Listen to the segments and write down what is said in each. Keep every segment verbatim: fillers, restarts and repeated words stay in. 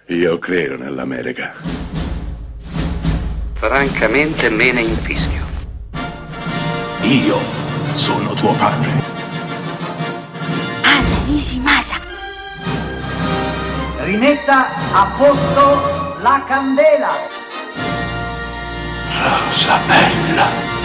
Io credo nell'America. Francamente me ne infischio. Io sono tuo padre. Anna Nishimasa. Rimetta a posto la candela. Rosa bella.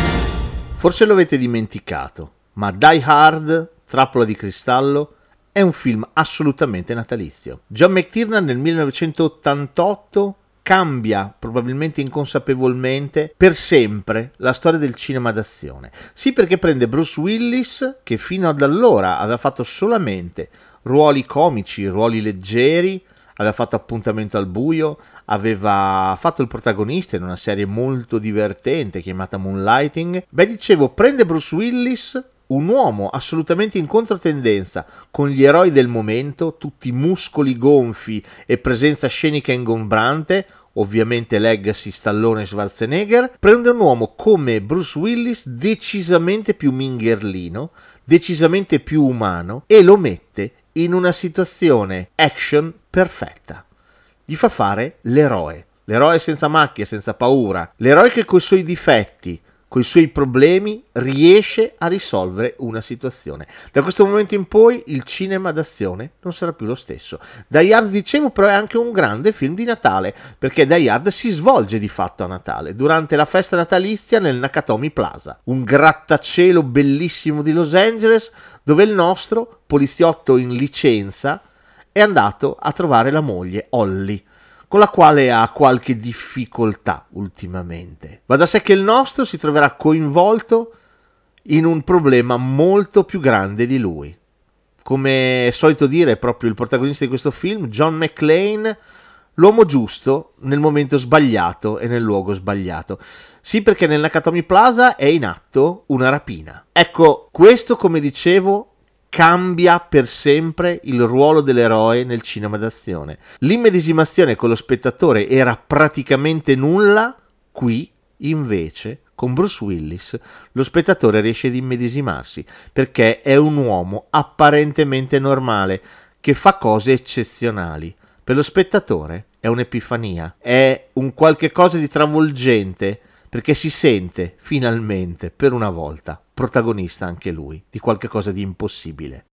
Forse lo avete dimenticato, ma Die Hard, Trappola di cristallo, è un film assolutamente natalizio. John McTiernan nel millenovecentottantotto cambia, probabilmente inconsapevolmente, per sempre la storia del cinema d'azione. Sì, perché prende Bruce Willis, che fino ad allora aveva fatto solamente ruoli comici, ruoli leggeri, aveva fatto Appuntamento al buio, aveva fatto il protagonista in una serie molto divertente chiamata Moonlighting. Beh, dicevo, prende Bruce Willis, un uomo assolutamente in controtendenza con gli eroi del momento, tutti muscoli gonfi e presenza scenica ingombrante, ovviamente legacy Stallone e Schwarzenegger. Prende un uomo come Bruce Willis decisamente più mingherlino, decisamente più umano, e lo mette in una situazione action perfetta. Gli fa fare l'eroe, l'eroe senza macchie, senza paura, l'eroe che coi suoi difetti, coi suoi problemi riesce a risolvere una situazione. Da questo momento in poi il cinema d'azione non sarà più lo stesso. Die Hard, dicevo, però è anche un grande film di Natale, perché Die Hard si svolge di fatto a Natale, durante la festa natalizia nel Nakatomi Plaza, un grattacielo bellissimo di Los Angeles, dove il nostro poliziotto in licenza è andato a trovare la moglie Holly, con la quale ha qualche difficoltà ultimamente. Va da sé che il nostro si troverà coinvolto in un problema molto più grande di lui. Come è solito dire proprio il protagonista di questo film, John McClane, l'uomo giusto nel momento sbagliato e nel luogo sbagliato. Sì, perché nel Nakatomi Plaza è in atto una rapina. Ecco, questo, come dicevo, cambia per sempre il ruolo dell'eroe nel cinema d'azione. L'immedesimazione con lo spettatore era praticamente nulla, qui invece con Bruce Willis lo spettatore riesce ad immedesimarsi, perché è un uomo apparentemente normale che fa cose eccezionali. Per lo spettatore è un'epifania, è un qualche cosa di travolgente, perché si sente finalmente, per una volta, protagonista anche lui di qualche cosa di impossibile.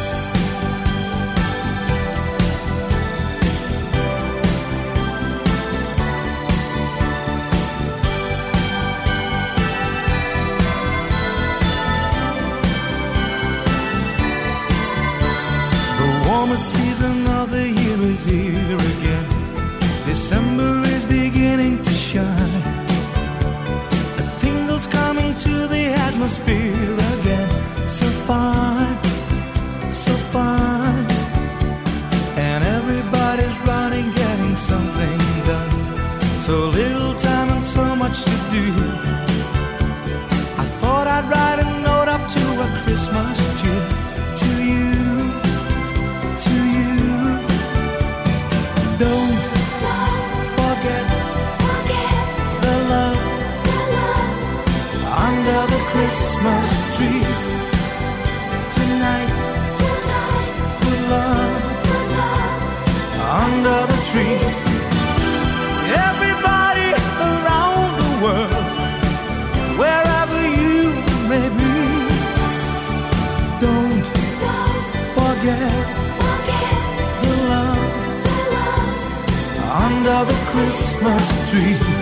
The warmest season of the year is here again. December is beginning to shine. Coming to the atmosphere again. So fine, so fine. And everybody's running, getting something done. So little time and so much to do. I thought I'd write a note up to a Christmas tree. To you, to you. Don't forget, forget the love under the Christmas tree tonight. Tonight, put love, put love under the tree. Everybody around the world, wherever you may be, don't, don't forget, forget the love, the love under the Christmas tree.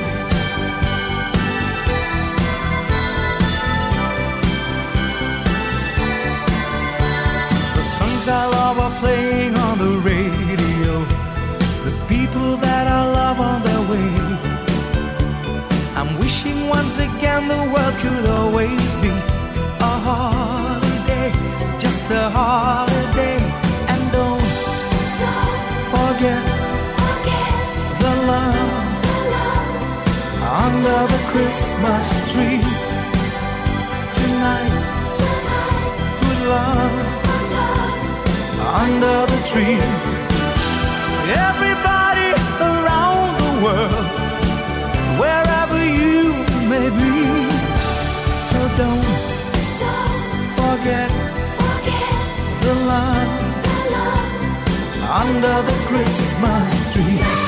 I love are playing on the radio. The people that I love on their way. I'm wishing once again the world could always be a holiday, just a holiday. And don't, don't forget, forget the love, the love under the Christmas tree tonight. Tonight, put love under the tree. Everybody around the world, wherever you may be. So don't, don't forget, forget the love, the love under the Christmas tree.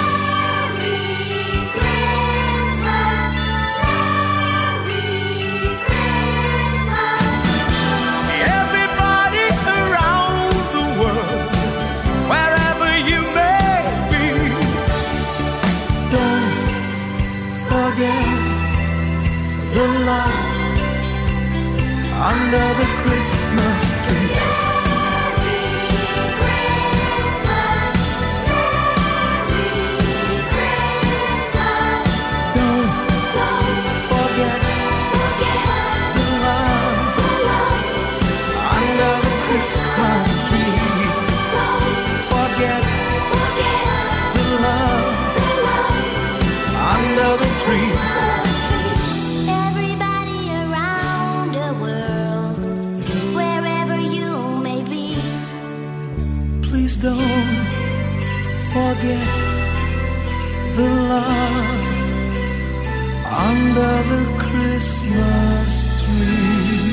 under the Christmas tree. Don't, don't forget, forget the love, the love under the Christmas tree. Don't forget, forget the love, the love under the tree. Please don't forget the love under the Christmas tree.